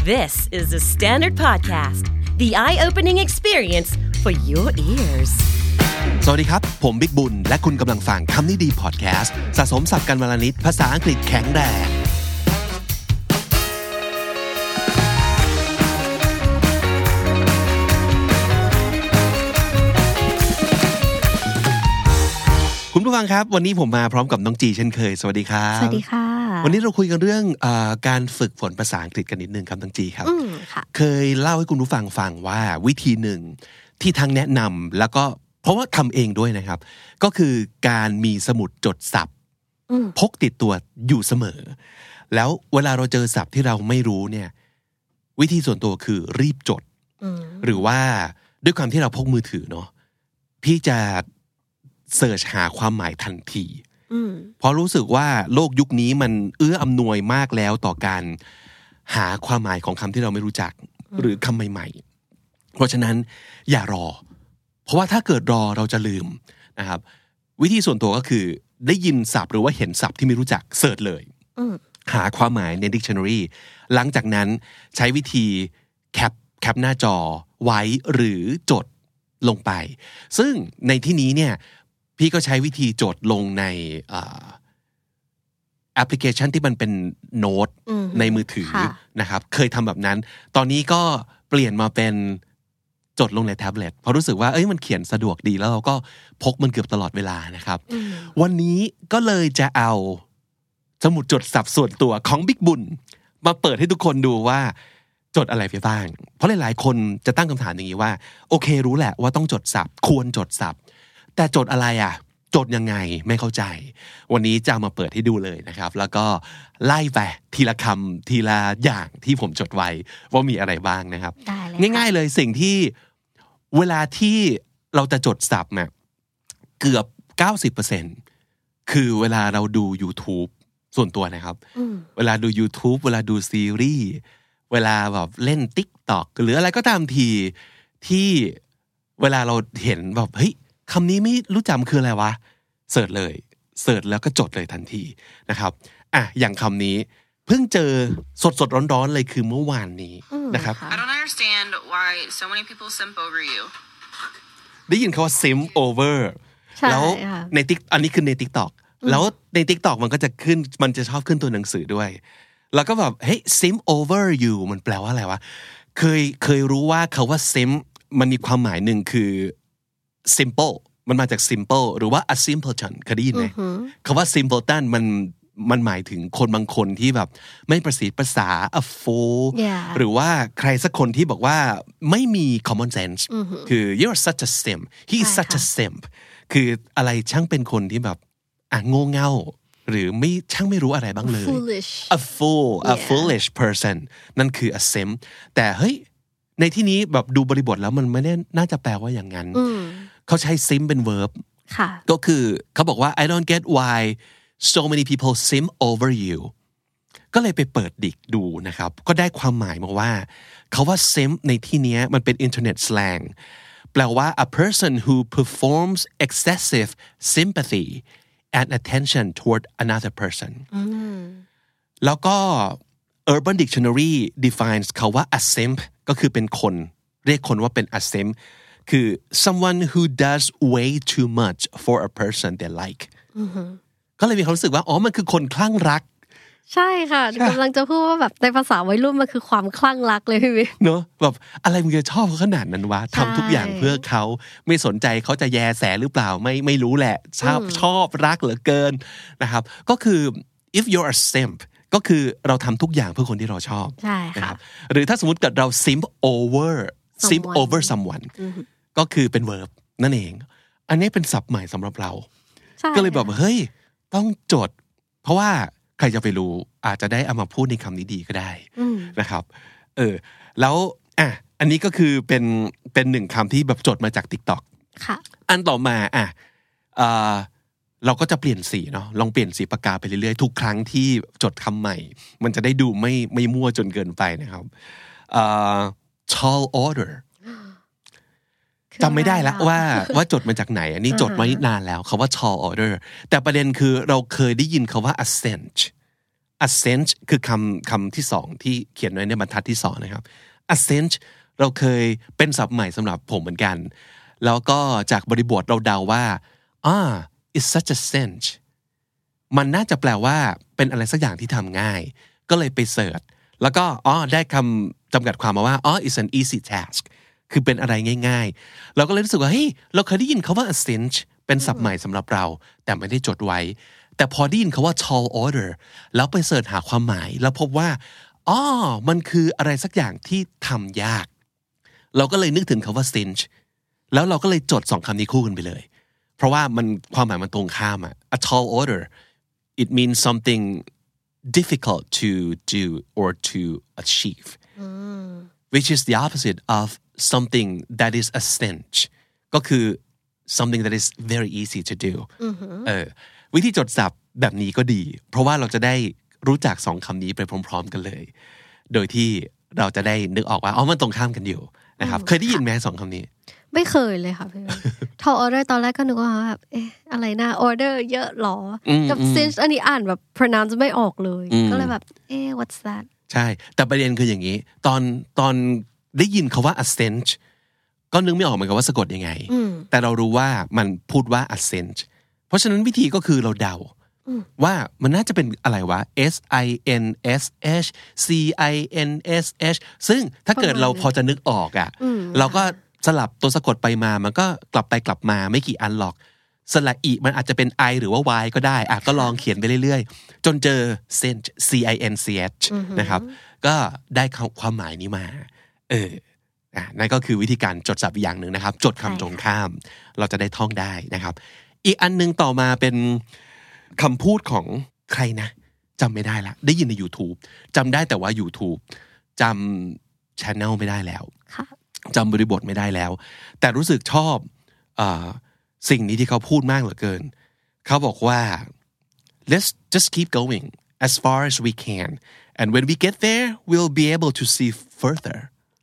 This is the Standard Podcast, the eye-opening experience for your ears. สวัสดีครับผมบิ๊กบุญและคุณกำลังฟังคำนี้ดีพอดแคสต์สะสมศัพท์กันวันละนิดภาษาอังกฤษแข็งแรงคุณผู้ฟังครับวันนี้ผมมาพร้อมกับน้องจีเช่นเคยสวัสดีครับสวัสดีค่ะวันนี้เราคุยกันเรื่องการฝึกฝนภาษาอังกฤษกันนิดนึงครับน้องจีครับเคยเล่าให้คุณผู้ฟังฟังว่าวิธีหนึ่งที่ทั้งแนะนำแล้วก็เพราะว่าทำเองด้วยนะครับก็คือการมีสมุดจดศัพท์พกติดตัวอยู่เสมอแล้วเวลาเราเจอศัพท์ที่เราไม่รู้เนี่ยวิธีส่วนตัวคือรีบจดหรือว่าด้วยความที่เราพกมือถือเนาะพี่จะเสิร์ชหาความหมายทันทีเพราะรู้สึกว่าโลกยุคนี้มันเอื้ออำนวยมากแล้วต่อการหาความหมายของคำที่เราไม่รู้จักหรือคำใหม่ๆเพราะฉะนั้นอย่ารอเพราะว่าถ้าเกิดรอเราจะลืมนะครับวิธีส่วนตัวก็คือได้ยินศัพท์หรือว่าเห็นศัพท์ที่ไม่รู้จักเสิร์ชเลยหาความหมายใน dictionary หลังจากนั้นใช้วิธีแคปหน้าจอไว้หรือจดลงไปซึ่งในที่นี้เนี่ยพี่ก็ใช้วิธีจดลงในแอปพลิเคชันที่มันเป็นโน้ตในมือถือนะครับเคยทำแบบนั้นตอนนี้ก็เปลี่ยนมาเป็นจดลงในแท็บเล็ตเพราะรู้สึกว่ามันเขียนสะดวกดีแล้วเราก็พกมันเกือบตลอดเวลานะครับวันนี้ก็เลยจะเอาสมุดจดศัพท์ส่วนตัวของบิ๊กบุญมาเปิดให้ทุกคนดูว่าจดอะไรไปบ้างเพราะหลายๆคนจะตั้งคำถามอย่างนี้ว่าโอเครู้แหละว่าต้องจดศัพท์ควรจดศัพท์แต่จดอะไรอ่ะจดยังไงไม่เข้าใจวันนี้จะมาเปิดให้ดูเลยนะครับแล้วก็ไล่ไปทีละคำทีละอย่างที่ผมจดไว้ว่ามีอะไรบ้างนะครับง่ายๆเลยสิ่งที่เวลาที่เราจะจดศัพท์เนี่ยเกือบ 90% คือเวลาเราดู YouTube ส่วนตัวนะครับเวลาดู YouTube เวลาดูซีรีส์เวลาแบบเล่น TikTok หรืออะไรก็ตามทีที่เวลาเราเห็นแบบเฮ้ยคำนี้ไม่รู้จำคืออะไรวะเสิร์ชเลยเสิร์ชแล้วก็จดเลยทันทีนะครับอย่างคำนี้เพิ่งเจอสดร้อนๆเลยคือเมื่อวานนี้นะครับ I don't understand why so many people simp over you ได้ยินคำว่า simp over แล้วในอันนี้คือใน TikTok แล้วใน TikTok มันก็จะขึ้นมันจะชอบขึ้นตัวหนังสือด้วยแล้วก็แบบเฮ้ย simp over you มันแปลว่าอะไรวะเคยรู้ว่าคำว่า simp มันมีความหมายหนึ่งคือsimple มันมาจาก simple หรือว่า a simpleton เคยได้ยินไหมคำว่า simpleton มันหมายถึงคนบางคนที่แบบไม่ประสีประสา a fool หรือว่าใครสักคนที่บอกว่าไม่มี common sense คือ you're such a simp he is such a simp คืออะไรช่างเป็นคนที่แบบโง่เง่าหรือไม่ช่างไม่รู้อะไรบ้างเลย a fool a foolish person นั่นคือ a simp แต่เฮ้ยในที่นี้แบบดูบริบทแล้วมันไม่ได้น่าจะแปลว่าอย่างนั้นเขาใช้ simp เป็น verb ก็คือเขาบอกว่า I don't get why so many people simp over you ก็เลยไปเปิดดิกดูนะครับก็ได้ความหมายมาว่าเขาว่า simp ในที่นี้มันเป็น internet slang แปลว่า a person who performs excessive sympathy and attention toward another person แล้วก็ Urban Dictionary defines เขาว่า a simp ก็คือเป็นคนเรียกคนว่าเป็น a simp คือ someone who does way too much for a person they like ก็เลยมีความรู้สึกว่ามันคือคนคลั่งรักใช่ค่ะกำลังจะพูดว่าแบบในภาษาวัยรุ่นมันคือความคลั่งรักเลยพี่วิเนอะแบบอะไรมึงจะชอบเขาขนาดนั้นวะทำทุกอย่างเพื่อเขาไม่สนใจเขาจะแยแสหรือเปล่าไม่รู้แหละชอบรักเหลือเกินนะครับก็คือ if you're a simp ก็คือเราทำทุกอย่างเพื่อคนที่เราชอบใช่ค่ะหรือถ้าสมมติเกิดเรา simp over someone ก็คือเป็น verb นั่นเองอันนี้เป็นศัพท์ใหม่สำหรับเราก็เลยแบบเฮ้ยต้องจดเพราะว่าใครจะไปรู้อาจจะได้เอามาพูดในคำนี้ดีก็ได้นะครับแล้วอันนี้ก็คือเป็นหนึ่งคำที่แบบจดมาจาก TikTok ค่ะอันต่อมาเราก็จะเปลี่ยนสีเนาะลองเปลี่ยนสีปากกาไปเรื่อยๆทุกครั้งที่จดคำใหม่มันจะได้ดูไม่มั่วจนเกินไปนะครับtall order จำไม่ได้ละว่าจดมาจากไหนอันนี้จดไว้นานแล้วคำว่า tall order แต่ประเด็นคือเราเคยได้ยินคำว่า ascent คือคำที่สองที่เขียนไว้ในบรรทัดที่สองนะครับ ascent เราเคยเป็นศัพท์ใหม่สำหรับผมเหมือนกันแล้วก็จากบริบทเราเดาว่าit's such a cinch มันน่าจะแปลว่าเป็นอะไรสักอย่างที่ทำง่ายก็เลยไปเสิร์ชแล้วก็ได้คำจำกัดความมาว่าit's an easy task คือเป็นอะไรง่ายๆเราก็เลยรู้สึกว่าเฮ้ยเราเคยได้ยินคำว่า a cinch เป็นศัพท์ใหม่สำหรับเราแต่ไม่ได้จดไว้แต่พอได้ยินคำว่า tall order แล้วไปเสิร์ชหาความหมายแล้วพบว่ามันคืออะไรสักอย่างที่ทำยากเราก็เลยนึกถึงคำว่า cinch แล้วเราก็เลยจดสองคำนี้คู่กันไปเลยเพราะว่ามันความหมายมันตรงข้ามa tall order it means something difficult to do or to achieve which is the opposite of something that is a cinch ก็คือ something that is very easy to do วิธีจดศัพท์แบบนี้ก็ดีเพราะว่าเราจะได้รู้จักสองคำนี้ไปพร้อมๆกันเลยโดยที่เราจะได้นึกออกว่ามันตรงข้ามกันอยู่นะครับเคยได้ยินไหมสองคำนี้ไม่เคยเลยค่ะพี่ tall order ตอนแรกก็นึกว่าแบบอะไรนะ order เยอะหรอกับ cinch อันนี้อ่านแบบ pronounce ไม่ออกเลยก็เลยแบบwhat's that ใช่แต่ประเด็นคืออย่างนี้ตอนได้ยินคำว่า ascent ก็นึกไม่ออกเหมือนกันว่าสะกดยังไงแต่เรารู้ว่ามันพูดว่า ascent เพราะฉะนั้นวิธีก็คือเราเดาว่ามันน่าจะเป็นอะไรวะ SINSH CINSH ซึ่งถ้าเกิดเราพอจะนึกออกเราก็สลับตัวสะกดไปมามันก็กลับไปกลับมาไม่กี่อันหรอกสระอีมันอาจจะเป็น I หรือว่า Y ก็ได้ก็ลองเขียนไปเรื่อยๆจนเจอ cinch CINCH นะครับก็ได้ความหมายนี้มานั่นก็คือวิธีการจดศัพท์อย่างหนึ่งนะครับจดคำตรงข้ามเราจะได้ท่องได้นะครับอีกอันนึงต่อมาเป็นคำพูดของใครนะจำไม่ได้ละได้ยินใน YouTube จำได้แต่ว่า YouTube จำ channel ไม่ได้แล้วจำบริบทไม่ได้แล้วแต่รู้สึกชอบสิ่งนี้ที่เขาพูดมากเหลือเกินเขาบอกว่า let's just keep going as far as we can and when we get there we'll be able to see further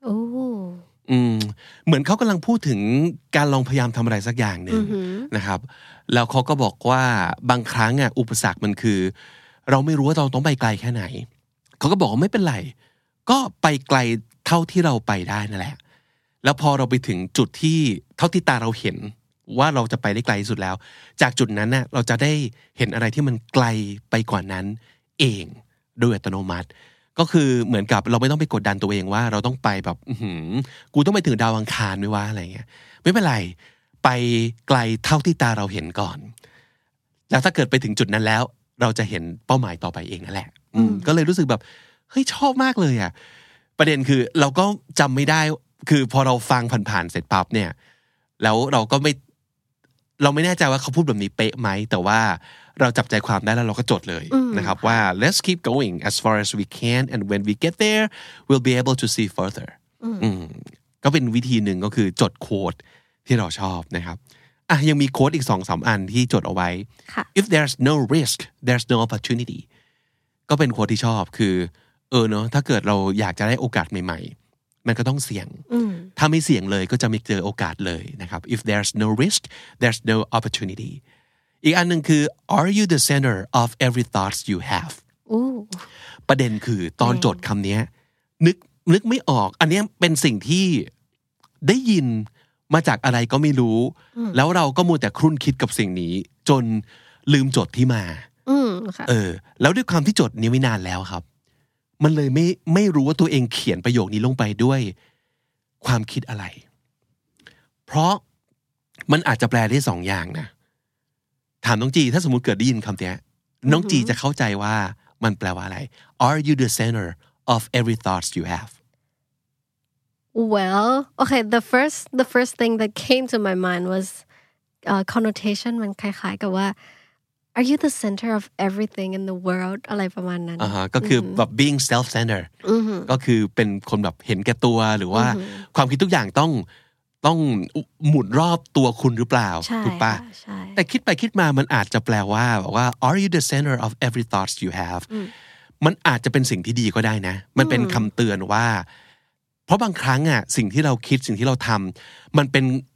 เหมือนเขากำลังพูดถึงการลองพยายามทำอะไรสักอย่างหนึ่งนะครับแล้วเขาก็บอกว่าบางครั้งอุปสรรคมันคือเราไม่รู้ว่าเราต้องไปไกลแค่ไหนเขาก็บอกว่าไม่เป็นไรก็ไปไกลเท่าที่เราไปได้นั่นแหละแล้วพอเราไปถึงจุดที่เท่าที่ตาเราเห็นว่าเราจะไปได้ไกลที่สุดแล้วจากจุดนั้นเราจะได้เห็นอะไรที่มันไกลไปกว่านั้นเองโดยอัตโนมัติก็คือเหมือนกับเราไม่ต้องไปกดดันตัวเองว่าเราต้องไปแบบกูต้องไปถึงดาวอังคารไม่ว่าอะไรเงี้ยไม่เป็นไรไปไกลเท่าที่ตาเราเห็นก่อนแล้วถ้าเกิดไปถึงจุดนั้นแล้วเราจะเห็นเป้าหมายต่อไปเองนั่นแหละก็เลยรู้สึกแบบเฮ้ยชอบมากเลยประเด็นคือเราก็จำไม่ได้คือพอเราฟังผ่านๆเสร็จปั๊บเนี่ยแล้วเราไม่แน่ใจว่าเขาพูดแบบนี้เป๊ะไหมแต่ว่าเราจับใจความได้แล้วเราก็จดเลยนะครับว่า let's keep going as far as we can and when we get there we'll be able to see further ก็เป็นวิธีหนึ่งก็คือจดโค้ดที่เราชอบนะครับยังมีโค้ดอีก 2-3 อันที่จดเอาไว้ if there's no risk there's no opportunity ก็เป็นโค้ดที่ชอบคือเนาะถ้าเกิดเราอยากจะได้โอกาสใหม่ๆมันก็ต้องเสี่ยงถ้าไม่เสี่ยงเลยก็จะไม่เจอโอกาสเลยนะครับ if there's no risk there's no opportunity อีกอันหนึ่งคือ are you the center of every thoughts you have ประเด็นคือตอนจดคำนี้นึกไม่ออกอันนี้เป็นสิ่งที่ได้ยินมาจากอะไรก็ไม่รู้แล้วเราก็มัวแต่ครุ่นคิดกับสิ่งนี้จนลืมจดที่มาแล้วด้วยความที่จดนี้ไม่นานแล้วครับมันเลยไม่รู้ว่าตัวเองเขียนประโยคนี้ลงไปด้วยความคิดอะไรเพราะมันอาจจะแปลได้สองอย่างนะถามน้องจีถ้าสมมุติเกิดได้ยินคำนี้น้องจีจะเข้าใจว่ามันแปลว่าอะไร Are you the center of every thoughts you have Well okay the first thing that came to my mind was connotation มันคล้ายๆกับว่าAre you the center of everything in the world อะไรประมาณนั้นก็คือแบบ being self-centered ก็คือเป็นคนแบบเห็นแก่ตัวหรือว่าความคิดทุกอย่างต้องหมุนรอบตัวคุณหรือเปล่าถูกปะแต่คิดไปคิดมามันอาจจะแปลว่าบอกว่า Are you the center of every thoughts you have มันอาจจะเป็นสิ่งที่ดีก็ได้นะมันเป็นคำเตือนว่าเพราะบางครั้งสิ่งที่เราคิดสิ่งที่เราทำมันเป็น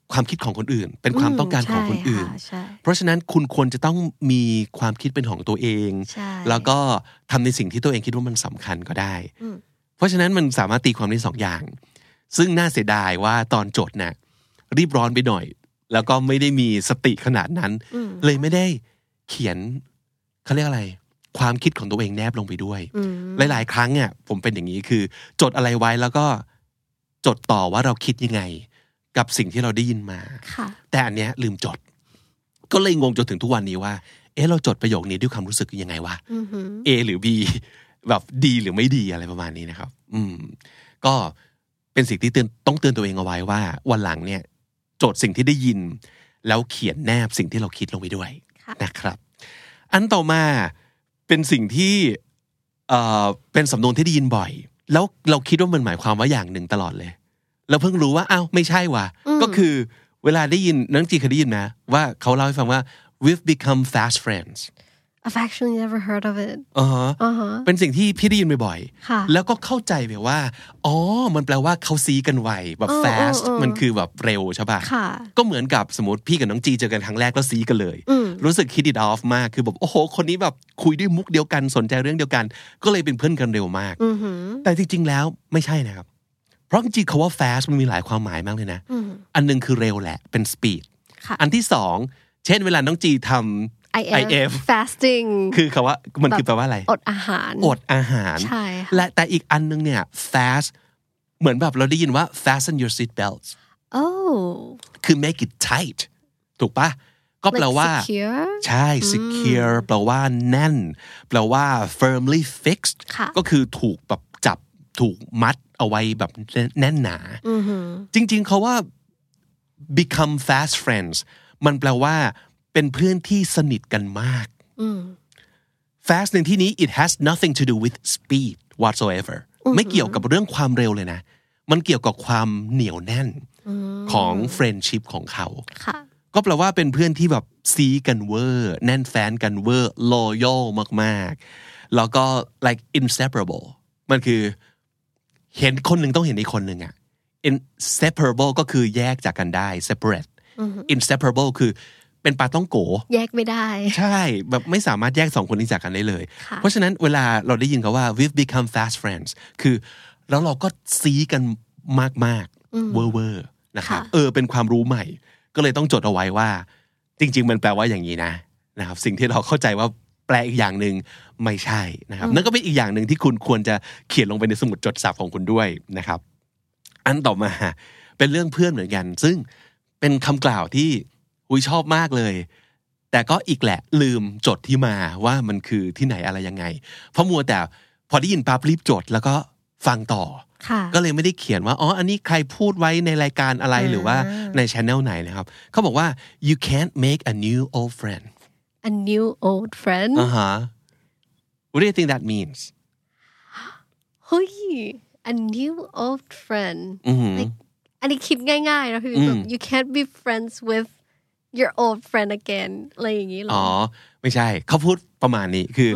ความคิดของคนอื่นเป็นความต้องการของคนอื่นเพราะฉะนั้นคุณควรจะต้องมีความคิดเป็นของตัวเองแล้วก็ทำในสิ่งที่ตัวเองคิดว่ามันสำคัญก็ได้เพราะฉะนั้นมันสามารถตีความได้2อย่างซึ่งน่าเสียดายว่าตอนจดน่ะรีบร้อนไปหน่อยแล้วก็ไม่ได้มีสติขนาดนั้นเลยไม่ได้เขียนเขาเรียกอะไรความคิดของตัวเองแนบลงไปด้วยหลายๆครั้งอ่ะผมเป็นอย่างนี้คือจดอะไรไว้แล้วก็จดต่อว่าเราคิดยังไงกับสิ่งที่เราได้ยินมาแต่อันเนี้ยลืมจดก็เลยงงจนถึงทุกวันนี้ว่าเราจดประโยคนี้ด้วยความรู้สึกยังไงวะ A หรือ B แบบดีหรือไม่ดีอะไรประมาณนี้นะครับก็เป็นสิ่งที่ต้องเตือนตัวเองเอาไว้ว่าวันหลังเนี่ยจดสิ่งที่ได้ยินแล้วเขียนแนบสิ่งที่เราคิดลงไปด้วยนะครับอันต่อมาเป็นสิ่งที่เป็นสำนวนที่ได้ยินบ่อยแล้วเราคิดว่ามันหมายความว่าอย่างหนึ่งตลอดเลยเราเพิ่งรู้ว่าอ้าวไม่ใช่ว่ะก็คือเวลาได้ยินน้องจีเคยได้ยินนะว่าเขาเล่าให้ฟังว่า we've become fast friends I've actually never heard of it เป็นสิ่งที่พี่ได้ยินบ่อยๆแล้วก็เข้าใจแบบว่าอ๋อมันแปลว่าเขาซีกันไวแบบ fast มันคือแบบเร็วใช่ป่ะก็เหมือนกับสมมติพี่กับน้องจีเจอกันครั้งแรกแล้วซีกันเลยรู้สึก hit it off มากคือแบบโอ้โหคนนี้แบบคุยด้วยมุกเดียวกันสนใจเรื่องเดียวกันก็เลยเป็นเพื่อนกันเร็วมากแต่จริงๆแล้วไม่ใช่นะครับเพราะจริงๆคำว่า fast มันมีหลายความหมายมากเลยนะอันนึงคือเร็วแหละเป็น speed อันที่สองเช่นเวลาน้องจีทำIF fasting คือคำว่ามันคือแปลว่าอะไรอดอาหารใช่และแต่อีกอันนึงเนี่ย fast เหมือนแบบเราได้ยินว่า fasten your seat belts คือ make it tight ถูกปะก็แปลว่า ใช่ secure แปลว่าแน่นแปลว่า firmly fixed ก็คือถูกแบบจับถูกมัดเอาไว้แบบแน่นหนาจริงๆเขาว่า become fast friends มันแปลว่าเป็นเพื่อนที่สนิทกันมาก fast ในที่นี้ it has nothing to do with speed whatsoever ไม่เกี่ยวกับเรื่องความเร็วเลยนะมันเกี่ยวกับความเหนียวแน่นของ friendship ของเขาก็แปลว่าเป็นเพื่อนที่แบบซีกันเวอร์แน่นแฟนกันเวอร์ loyal มากๆแล้วก็ like inseparable มันคือเห็นคนหนึ่งต้องเห็นอีกคนหนึ่งอ่ะ inseparable ก็คือแยกจากกันได้ separate inseparable คือเป็นปลาต้องโกแยกไม่ได้ใช่แบบไม่สามารถแยกสองคนนี้จากกันได้เลยเพราะฉะนั้นเวลาเราได้ยินเขาว่า we've become fast friends คือแล้วเราก็ซีกันมากๆเวอร์ๆนะครับเป็นความรู้ใหม่ก็เลยต้องจดเอาไว้ว่าจริงๆมันแปลว่าอย่างนี้นะครับสิ่งที่เราเข้าใจว่าแปลอีกอย่างหนึ่งไม่ใช่นะครับนั่นก็เป็นอีกอย่างหนึ่งที่คุณควรจะเขียนลงไปในสมุดจดศัพท์ของคุณด้วยนะครับอันต่อมาเป็นเรื่องเพื่อนเหมือนกันซึ่งเป็นคำกล่าวที่ชอบมากเลยแต่ก็อีกแหละลืมจดที่มาว่ามันคือที่ไหนอะไรยังไงเพราะมัวแต่พอได้ยินปั๊บรีบจดแล้วก็ฟังต่อก็เลยไม่ได้เขียนว่าอันนี้ใครพูดไว้ในรายการอะไรหรือว่าใน channel ไหนนะครับเขาบอกว่า you can't make a new old friend a new old friend what do you think that means เฮ้ย a new old friend like อันนี้คิดง่ายๆนะพี่แบบ you can't be friends with your old friend again อะไรอย่างนี้หรอไม่ใช่เขาพูดประมาณนี้คือ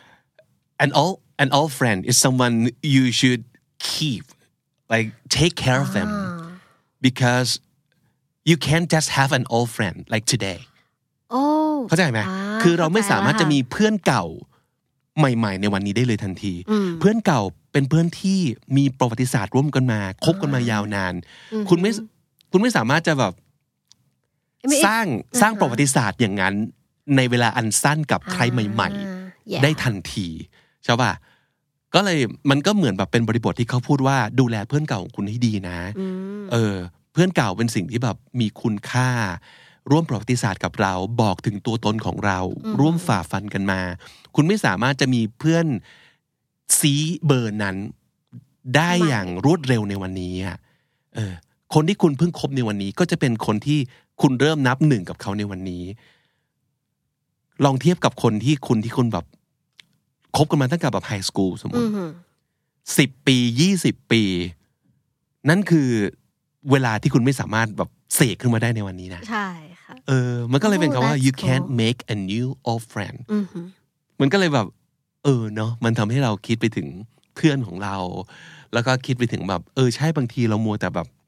an old friend is someone you should keep like take care of them because you can't just have an old friend like today เข้าใจไหมคือเราไม่สามารถจะมีเพื่อนเก่าใหม่ๆในวันนี้ได้เลยทันทีเพื่อนเก่าเป็นเพื่อนที่มีประวัติศาสตร์ร่วมกันมาคบกันมายาวนานคุณไม่สามารถจะแบบสร้างประวัติศาสตร์อย่างนั้นในเวลาอันสั้นกับใครใหม่ๆได้ทันทีใช่ป่ะก็เลยมันก็เหมือนแบบเป็นบริบทที่เขาพูดว่าดูแลเพื่อนเก่าของคุณให้ดีนะเพื่อนเก่าเป็นสิ่งที่แบบมีคุณค่าร่วมประวัติศาสตร์กับเราบอกถึงตัวตนของเราร่วมฝ่าฟันกันมาคุณไม่สามารถจะมีเพื่อนซีเบอร์นั้นได้อย่างรวดเร็วในวันนี้คนที่คุณเพิ่งคบในวันนี้ก็จะเป็นคนที่คุณเริ่มนับหนึ่งกับเขาในวันนี้ลองเทียบกับคนที่คุณแบบคบกันมาตั้งแต่แบบไฮสคูลสมมติ10 ปี20 ปีนั่นคือเวลาที่คุณไม่สามารถแบบเสกขึ้นมาได้ในวันนี้นะใช่ค่ะมันก็เลยเป็นคำว่า you can't make a new old friend มันก็เลยแบบเนาะมันทำให้เราคิดไปถึงเพื่อนของเราแล้วก็คิดไปถึงแบบใช่บางทีเรามัวแต่แบบ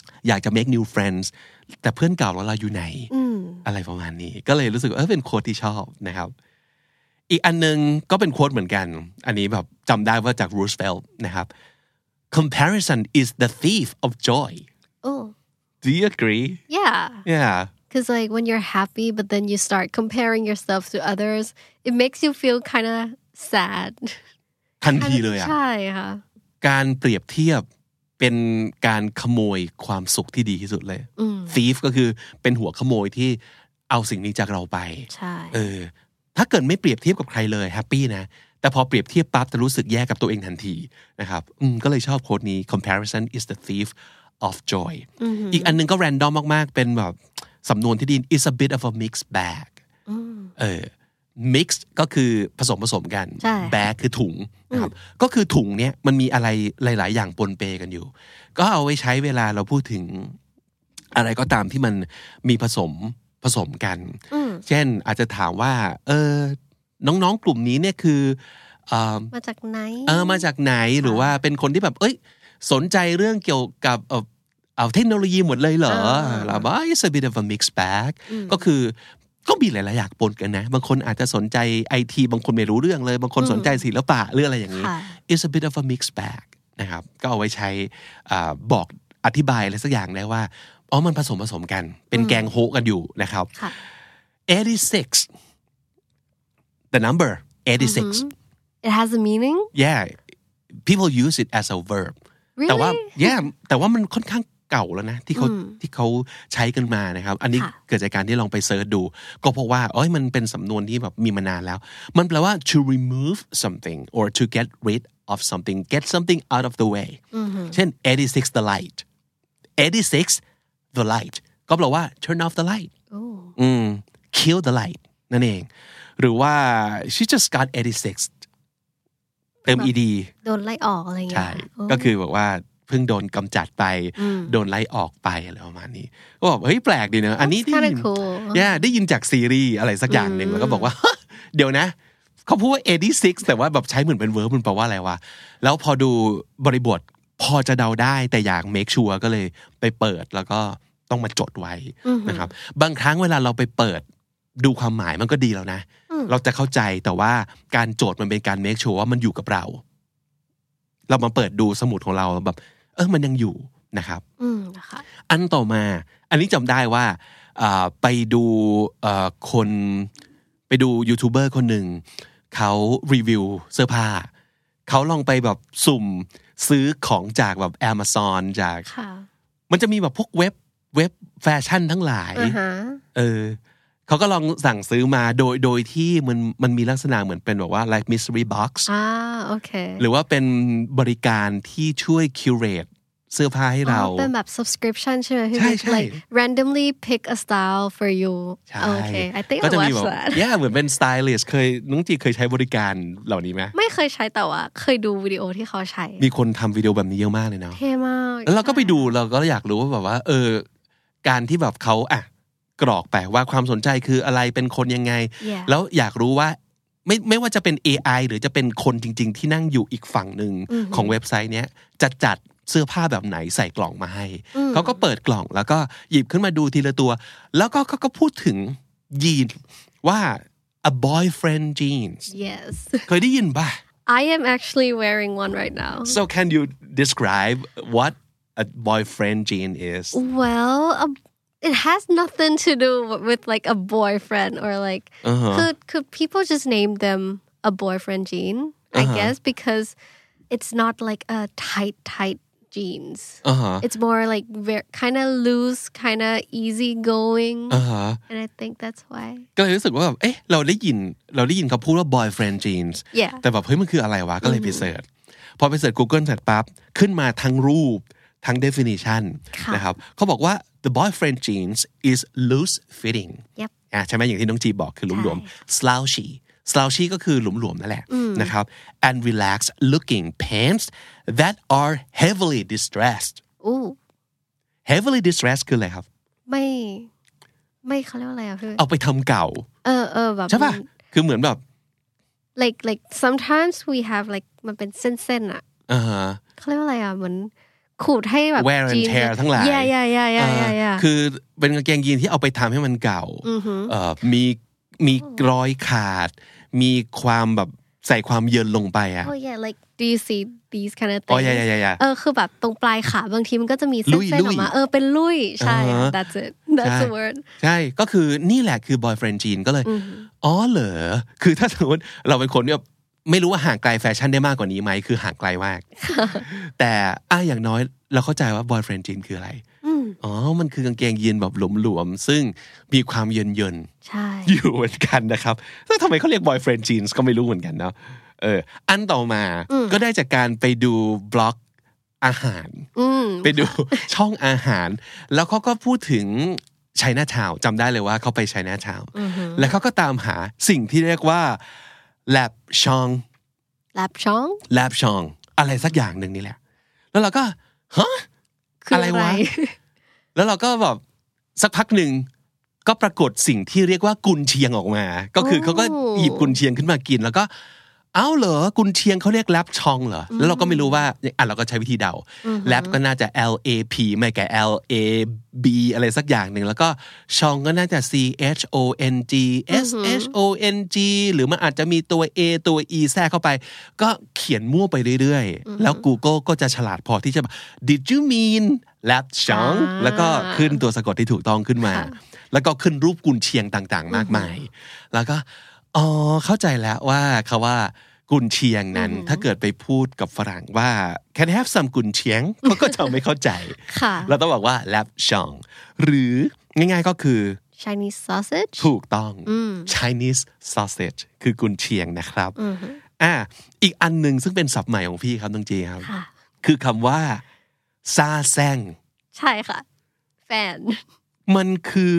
อยากจะ make new friends แต่เพื่อนเก่าเราอยู่ไหนอะไรประมาณนี้ก็เลยรู้สึกเป็นโค้ดที่ชอบนะครับอีกอันนึงก็เป็นโค้ดเหมือนกันอันนี้แบบจำได้ว่าจาก Roosevelt นะครับ comparison is the thief of joy oh do you agree yeah because like when you're happy but then you start comparing yourself to others it makes you feel kind of sad ทันทีเลยอ่ะใช่ค่ะการเปรียบเทียบเป็นการขโมยความสุขที่ดีที่สุดเลย thief ก็คือเป็นหัวขโมยที่เอาสิ่งนี้จากเราไปใช่ถ้าเกิดไม่เปรียบเทียบกับใครเลยแฮปปี้นะแต่พอเปรียบเทียบปั๊บจะรู้สึกแย่กับตัวเองทันทีนะครับก็เลยชอบโค้ดนี้ comparison is the thief of joy อีกอันนึงก็ random มากๆเป็นแบบสำนวนที่ดี is a bit of a mixed bag mixed ก็คือผสมกัน bag คือถุงนะครับก็คือถุงเนี้ยมันมีอะไรหลายๆอย่างปนเปกันอยู่ก็เอาไว้ใช้เวลาเราพูดถึงอะไรก็ตามที่มันมีผสมกันเช่นอาจจะถามว่าน้องๆกลุ่มนี้เนี่ยคือมาจากไหนมาจากไหนหรือว่าเป็นคนที่แบบสนใจเรื่องเกี่ยวกับเทคโนโลยีหมดเลยเหรอเราบอก it's a bit of a mixed bag ก็มีหลายๆอย่างปนกันนะบางคนอาจจะสนใจ IT บางคนไม่รู้เรื่องเลยบางคนสนใจศิลปะหรืออะไรอย่างนี้ it's a bit of a mixed bag นะครับก็เอาไว้ใช้บอกอธิบายอะไรสักอย่างได้ว่ามันผสมกันเป็นแกงโฮกันอยู่นะครับ86 the number 86 it has a meaning yeah people use it as a verb really? แต่ว่ามันค่อนข้างเก่าแล้วนะที่เขาใช้กันมานะครับอันนี้เกิดจากการที่ลองไปเสิร์ชดูก็เพราะว่ามันเป็นสำนวนที่แบบมีมานานแล้วมันแปลว่า to remove something or to get rid of something get something out of the way เช่น86 the light 86 the light ก็แปลว่า turn off the light kill the light นั่นเองหรือว่า she just got 86 เติม ed โดนไล่ออกอะไรอย่างเงี้ยใช่ก็คือบอกว่าเพิ่งโดนกำจัดไปโดนไล่ออกไปอะไรประมาณนี้ก็บอกเฮ้ยแปลกดีเนอะอันนี้ได้ยินได้ยินจากซีรีส์อะไรสักอย่างหนึ่งแล้วก็บอกว่าเดี๋ยวนะเขาพูดว่า86แต่ว่าแบบใช้เหมือนเป็นเวิร์บมันแปลว่าอะไรวะแล้วพอดูบริบทพอจะเดาได้แต่อยากเมคชัวร์ก็เลยไปเปิดแล้วก็ต้องมาจดไว้นะครับบางครั้งเวลาเราไปเปิดดูความหมายมันก็ดีแล้วนะเราจะเข้าใจแต่ว่าการโจทย์มันเป็นการเมคชัวร์ว่ามันอยู่กับเรามาเปิดดูสมุดของเราแบบมันยังอยู่นะครับอันต่อมาอันนี้จำได้ว่าไปดูยูทูบเบอร์คนหนึ่งเขารีวิวเสื้อผ้าเขาลองไปแบบสุ่มซื้อของจากแบบ Amazon จากมันจะมีแบบพวกเว็บแฟชั่นทั้งหลายเขาก็ลองสั่งซื้อมาโดยที่มันมีลักษณะเหมือนเป็นแบบว่า like mystery box โอเคหรือว่าเป็นบริการที่ช่วย curate เสื้อผ้าให้เราเป็นแบบ subscription ใช่ไหมใช่ like randomly pick a style for you โอเค I think I watched that เหมือนเป็น stylist น้องจีเคยใช้บริการเหล่านี้ไหมไม่เคยใช้แต่ว่าเคยดูวิดีโอที่เขาใช้มีคนทำวิดีโอแบบนี้เยอะมากเลยเนาะเท่มากแล้วเราก็ไปดูเราก็อยากรู้ว่าแบบว่าการที่แบบเขากรอกไปว่าความสนใจคืออะไรเป็นคนยังไงแล้วอยากรู้ว่าไม่ว่าจะเป็น AI หรือจะเป็นคนจริงๆที่นั่งอยู่อีกฝั่งหนึ่งของเว็บไซต์เนี้ยจะจัดเสื้อผ้าแบบไหนใส่กล่องมาให้เขาก็เปิดกล่องแล้วก็หยิบขึ้นมาดูทีละตัวแล้วก็เขาก็พูดถึงยีนว่า a boyfriend jeans yes เคยได้ยินป่ะ I am actually wearing one right now so can you describe what a boyfriend jean is well it has nothing to do with like a boyfriend or like could people just name them a boyfriend jean I guess because it's not like a tight jeans it's more like kind of loose kind of easy going and I think that's why ก็เลยรู้สึกว่าแบบเราได้ยินเขาพูดว่า boyfriend jeans แต่แบบเฮ้ยมันคืออะไรวะก็เลยไปเสิร์ชพอไปเสิร์ช Google เสร็จปั๊บขึ้นมาทั้งรูปทั้ง definition นะครับเขาบอกว่า the boyfriend jeans is loose fitting ใช่ไหมอย่างที่น้องจีบอกคือหลวมๆ slouchy ก็คือหลวมๆนั่นแหละนะครับ and relaxed looking pants that are heavily distressed heavily distressed คืออะไรครับไม่เขาเรียกว่าอะไรอ่ะพี่เอาไปทำเก่าแบบใช่ป่ะคือเหมือนแบบ like sometimes we have like มันเป็นเส้นๆอ่ะเขาเรียกว่าอะไรอ่ะเหมือนขูดให้แบบ wear and tear ทั้งหลายคือเป็นกางเกงยีนที่เอาไปทำให้มันเก่ามีรอยขาดมีความแบบใส่ความเยินลงไปอ่ะ Oh yeah like do you see these kind of things อ๋อ yeah คือแบบตรงปลายขาบางทีมันก็จะมีเส้นๆออกมาเป็นลุยใช่ that's it that's the word ใช่ก็คือนี่แหละคือ boyfriend jean ก็เลยอ๋อเหรอคือถ้าสมมติเราเป็นคนเนี่ยไม่รู้ว่าห่างไกลแฟชั่นได้มากกว่านี้ไหมคือห่างไกลมากแต่อย่างน้อยเราเข้าใจว่า boyfriend jean คืออะไรมันคือกางเกงยีนแบบหลวมๆซึ่งมีความเยินๆอยู่เหมือนกันนะครับแล้วทำไมเขาเรียก boyfriend jeans ก็ไม่รู้เหมือนกันเนาะอันต่อมาก็ได้จากการไปดูบล็อกอาหารไปดูช่องอาหารแล้วเขาก็พูดถึงไชน่าทาวน์จำได้เลยว่าเขาไปไชน่าทาวน์แล้วเขาก็ตามหาสิ่งที่เรียกว่าแลบชองอะไรสักอย่างหนึ่งนี่แหละแล้วเราก็ฮะอะไรวะแล้วเราก็แบบสักพักหนึ่งก็ปรากฏสิ่งที่เรียกว่ากุนเชียงออกมาก็คือเขาก็หยิบกุนเชียงขึ้นมากินแล้วก็เหรอกุนเชียงเขาเรียกแลบชองเหรอแล้วเราก็ไม่รู้ว่าเราก็ใช้วิธีเดาแลบก็น่าจะ LAP ไม่ก็ LAB อะไรสักอย่างหนึ่งแล้วก็ชองก็น่าจะ CHONG SHONG หรือมันอาจจะมีตัว A ตัว E แทรกเข้าไปก็เขียนมั่วไปเรื่อยๆแล้ว Google ก็จะฉลาดพอที่จะ Did you mean แลบชองแล้วก็ขึ้นตัวสะกดที่ถูกต้องขึ้นมาแล้วก็ขึ้นรูปกุนเชียงต่างๆมากมายแล้วก็เข้าใจแล้วว่าคำว่ากุนเชียงนั้นถ้าเกิดไปพูดกับฝรั่งว่า Can I have some กุนเชียงเขาก็จะไม่เข้าใจเราต้องบอกว่าแลบชองหรือง่ายๆก็คือ Chinese sausage ถูกต้อง Chinese sausage คือกุนเชียงนะครับอีกอันหนึ่งซึ่งเป็นศัพท์ใหม่ของพี่ครับน้องเจครับคือคำว่าซาแซงใช่ค่ะแฟนมันคือ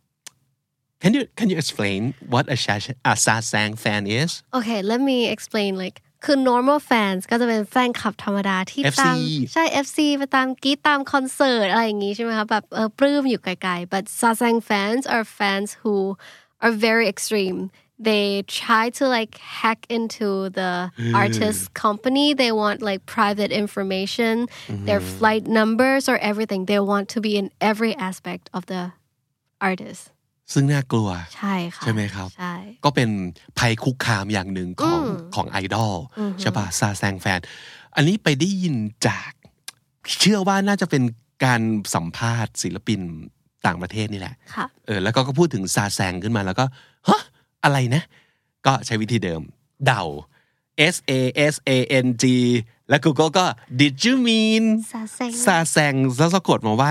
Can you explain what a sasang fan is? Okay, let me explain. Like, คือ normal fans ก็จะเป็นแฟนคลับธรรมดาที่ตามใช่ FC ไปตามกรี๊ดตามคอนเสิร์ตอะไรอย่างงี้ใช่ไหมคะแบบปลื้มอยู่ไกลๆ but sasang fans are fans who are very extreme. They try to like hack into the artist's company. They want like private information, their flight numbers or everything. They want to be in every aspect of the artist. ซึ่งน่ากลัวใช่ค่ะใช่ไหมครับใช่ก็เป็นภัยคุกคามอย่างหนึ่งของไอดอลใช่ป่ะซาแซงแฟนอันนี้ไปได้ยินจากเชื่อว่าน่าจะเป็นการสัมภาษณ์ศิลปินต่างประเทศนี่แหละแล้วก็พูดถึงซาแซงขึ้นมาแล้วก็ฮะอะไรนะก็ใช้วิธีเดิมเดา SASANG แล้ว Google ก็ Did you mean ซาแซงแล้วสะกดมาว่า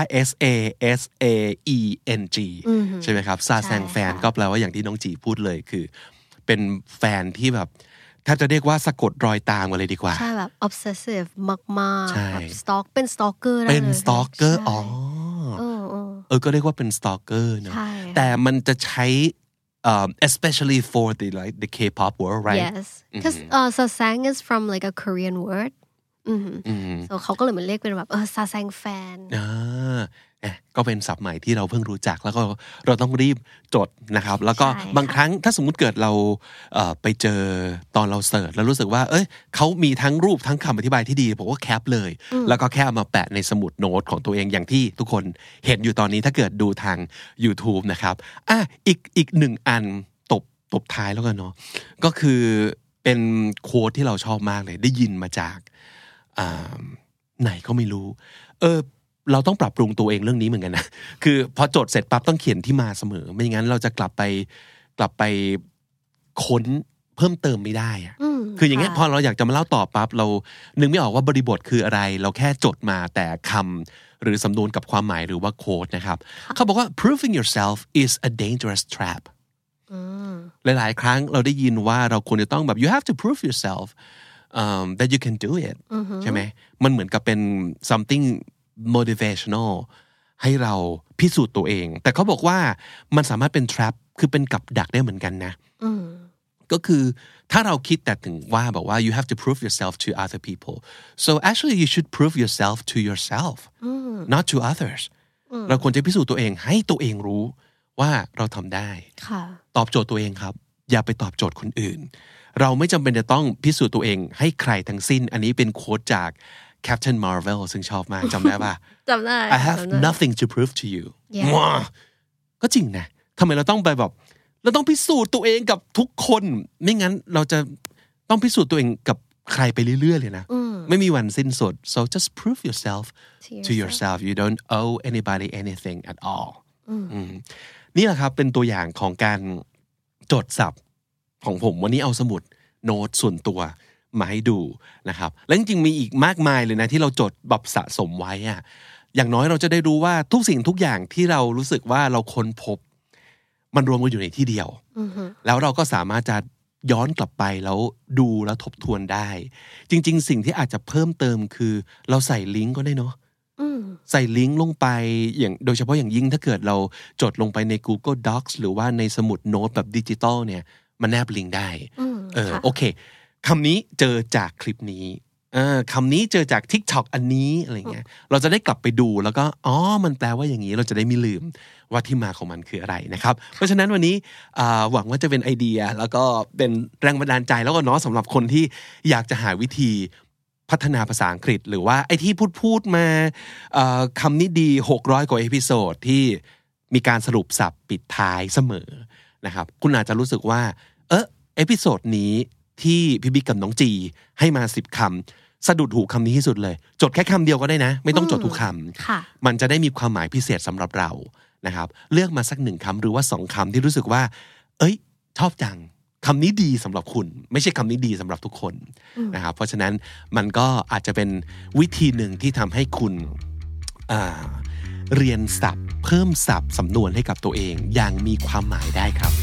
SASAENG ใช่ไหมครับซาแซงแฟนก็แปลว่าอย่างที่น้องจีพูดเลยคือเป็นแฟนที่แบบถ้าจะเรียกว่าสะกดรอยตามกันเลยดีกว่าใช่แบบ obsessive มากๆแบบ stalk เป็น stalker เป็น stalker ก็เรียกว่าเป็น stalker นะแต่มันจะใช้especially for the K-pop world, right? Yes, because sasang is from like a Korean word. So เขาก็เลยเหมือนเรียกเป็นแบบsasang fan. ก็เป็นศัพท์ใหม่ที่เราเพิ่งรู้จักแล้วก็เราต้องรีบจดนะครับแล้วก็บางครั้งถ้าสมมุติเกิดเราไปเจอตอนเราเสิร์ชแล้วรู้สึกว่าเขามีทั้งรูปทั้งคำอธิบายที่ดีผมก็แคปเลยแล้วก็แค่เอามาแปะในสมุดโน้ตของตัวเองอย่างที่ทุกคนเห็นอยู่ตอนนี้ถ้าเกิดดูทาง YouTube นะครับอีกหนึ่งอันตบท้ายแล้วกันเนาะก็คือเป็นโค้ดที่เราชอบมากเลยได้ยินมาจากไหนก็ไม่รู้เราต้องปรับปรุงตัวเองเรื่องนี้เหมือนกันนะคือพอจดเสร็จปั๊บต้องเขียนที่มาเสมอไม่อย่างนั้นเราจะกลับไปค้นเพิ่มเติมไม่ได้อะคืออย่างเงี้ยพอเราอยากจะมาเล่าต่อปั๊บเรานึกไม่ออกว่าบริบทคืออะไรเราแค่จดมาแต่คำหรือสำนวนกับความหมายหรือว่าโค้ดนะครับเขาบอกว่า proving yourself is a dangerous trap หลายๆครั้งเราได้ยินว่าเราควรจะต้องแบบ you have to prove yourself that you can do it ใช่ไหมมันเหมือนกับเป็น something motivational ให้เราพิสูจน์ตัวเองแต่เขาบอกว่ามันสามารถเป็น trap คือเป็นกับดักได้เหมือนกันนะก็คือถ้าเราคิดแต่ถึงว่าบอกว่า you have to prove yourself to other people so actually you should prove yourself to yourself not to others เราควรจะพิสูจน์ตัวเองให้ตัวเองรู้ว่าเราทำได้ตอบโจทย์ตัวเองครับอย่าไปตอบโจทย์คนอื่นเราไม่จำเป็นจะต้องพิสูจน์ตัวเองให้ใครทั้งสิ้นอันนี้เป็นโค้ดจาก Captain Marvel ซึ่งชอบมากจำได้ป่ะจำได้ I have nothing to prove to you ก็จริงนะทำไมเราต้องไปแบบเราต้องพิสูจน์ตัวเองกับทุกคนไม่งั้นเราจะต้องพิสูจน์ตัวเองกับใครไปเรื่อยๆเลยนะไม่มีวันสิ้นสุด so just prove yourself to yourself you don't owe anybody anything at all นี่แหละครับเป็นตัวอย่างของการจดศัพท์ของผมวันนี้เอาสมุดโน้ตส่วนตัวมาให้ดูนะครับและจริงๆมีอีกมากมายเลยนะที่เราจดแบบสะสมไว้อะอย่างน้อยเราจะได้รู้ว่าทุกสิ่งทุกอย่างที่เรารู้สึกว่าเราค้นพบมันรวมกันอยู่ในที่เดียวแล้วเราก็สามารถจะย้อนกลับไปแล้วดูแล้วทบทวนได้จริงๆสิ่งที่อาจจะเพิ่มเติมคือเราใส่ลิงก์ก็ได้เนาะใส่ลิงก์ลงไปอย่างโดยเฉพาะอย่างยิ่งถ้าเกิดเราจดลงไปใน Google Docs หรือว่าในสมุดโน้ตแบบดิจิตอลเนี่ยมันแนบลิงก์ได้โอเคคำนี้เจอจากคลิปนี้คำนี้เจอจาก TikTok อันนี้อะไรเงี้ยเราจะได้กลับไปดูแล้วก็มันแปลว่าอย่างนี้เราจะได้ไม่ลืมว่าที่มาของมันคืออะไรนะครับเพราะฉะนั้นวันนี้หวังว่าจะเป็นไอเดียแล้วก็เป็นแรงบันดาลใจแล้วก็เนาะสำหรับคนที่อยากจะหาวิธีพัฒนาภาษาอังกฤษหรือว่าไอ้ที่พูดมาคำนี้ดี600กว่าเอพิโซดที่มีการสรุปศัพท์ปิดท้ายเสมอนะครับคุณอาจจะรู้สึกว่าเอพิโซดนี้ที่พี่บิ๊กกับน้องจีให้มา10คำสะดุดหูคำนี้ที่สุดเลยจดแค่คำเดียวก็ได้นะไม่ต้องจดทุกคำมันจะได้มีความหมายพิเศษสำหรับเรานะครับเลือกมาสัก1คำหรือว่า2คำที่รู้สึกว่าชอบจังคำนี้ดีสำหรับคุณไม่ใช่คำนี้ดีสำหรับทุกคนนะครับเพราะฉะนั้นมันก็อาจจะเป็นวิธีหนึ่งที่ทำให้คุณเรียนศัพท์เพิ่มศัพท์สำนวนให้กับตัวเองอย่างมีความหมายได้ครับ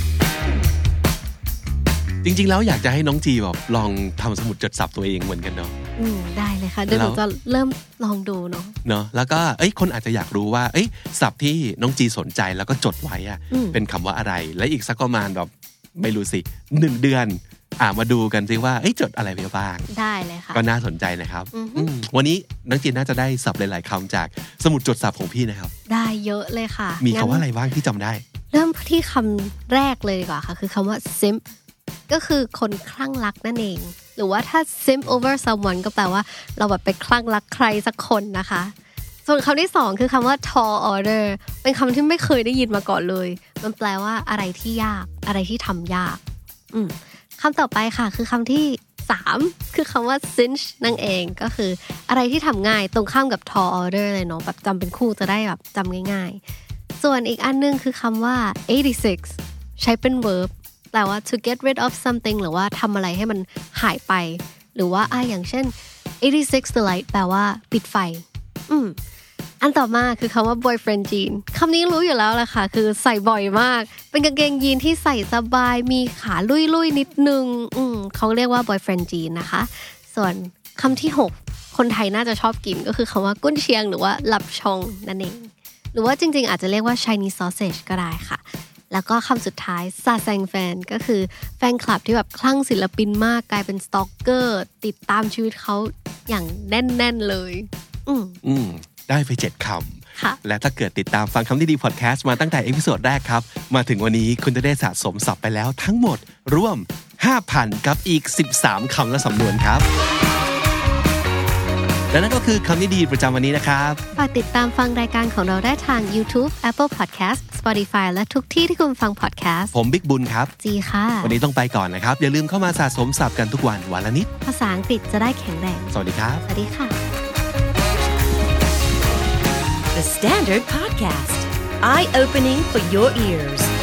จริงๆแล้วอยากจะให้น้องจีแบบลองทำสมุดจดศัพท์ตัวเองเหมือนกันเนาะได้เลยค่ะเดี๋ยวหนูจะเริ่มลองดูเนาะแล้วก็คนอาจจะอยากรู้ว่าศัพท์ที่น้องจีสนใจแล้วก็จดไว้เป็นคำว่าอะไรและอีกสักประมาณแบบไม่รู้สิ1เดือนมาดูกันซิว่าจดอะไรไปบ้างได้เลยค่ะก็น่าสนใจนะครับวันนี้น้องจีน่าจะได้ศัพท์หลายๆคำจากสมุดจดศัพท์ของพี่นะครับได้เยอะเลยค่ะมีคำว่าอะไรบ้างที่จำได้เริ่มที่คำแรกเลยดีกว่าค่ะคือคำว่า simp ก็คือคนคลั่งรักนั่นเองหรือว่าถ้า simp over someone ก็แปลว่าเราแบบไปคลั่งรักใครสักคนนะคะส่วนคำที่2คือคำว่า tall order เป็นคำที่ไม่เคยได้ยินมาก่อนเลยมันแปลว่าอะไรที่ยากอะไรที่ทำยากคำต่อไปค่ะคือคำที่3คือคำว่า cinch นั่นเองก็คืออะไรที่ทำง่ายตรงข้ามกับ tall order เลยเนาะแบบจำเป็นคู่จะได้แบบจำง่ายๆส่วนอีกอันนึงคือคำว่า 86ใช้เป็น verb แปลว่า to get rid of something หรือว่าทำอะไรให้มันหายไปหรือว่าอย่างเช่น86 the light แปลว่าปิดไฟอันต่อมาคือคำว่า boyfriend jean คำนี้รู้อยู่แล้วแหละค่ะคือใส่บ่อยมากเป็นกางเกงยีนที่ใส่สบายมีขาลุยๆนิดนึงเขาเรียกว่า boyfriend jean นะคะส่วนคำที่6คนไทยน่าจะชอบกินก็คือคำว่ากุ้นเชียงหรือว่าหลับชงนั่นเองหรือว่าจริงๆอาจจะเรียกว่า Chinese sausage ก็ได้ค่ะแล้วก็คำสุดท้ายซาแซงแฟนก็คือแฟนคลับที่แบบคลั่งศิลปินมากกลายเป็นสตอกเกอร์ติดตามชีวิตเขาอย่างแน่นๆเลยได้ไป7คำและถ้าเกิดติดตามฟังคำดีๆพอดแคสต์มาตั้งแต่เอพิโซดแรกครับมาถึงวันนี้คุณจะได้สะสมศัพท์ไปแล้วทั้งหมดรวม 5,000 กับอีก13คำและสำนวนครับและนั่นก็คือคำดีๆประจำวันนี้นะครับฝากติดตามฟังรายการของเราได้ทาง YouTube Apple Podcast Spotify และทุกที่ที่คุณฟัง podcast ผมบิ๊กบุญครับจีค่ะวันนี้ต้องไปก่อนนะครับอย่าลืมเข้ามาสะสมศัพท์กันทุกวันวันละนิดภาษาอังกฤษจะได้แข็งแรงสวัสดีครับสวัสดีค่ะ The Standard Podcast Eye Opening for Your Ears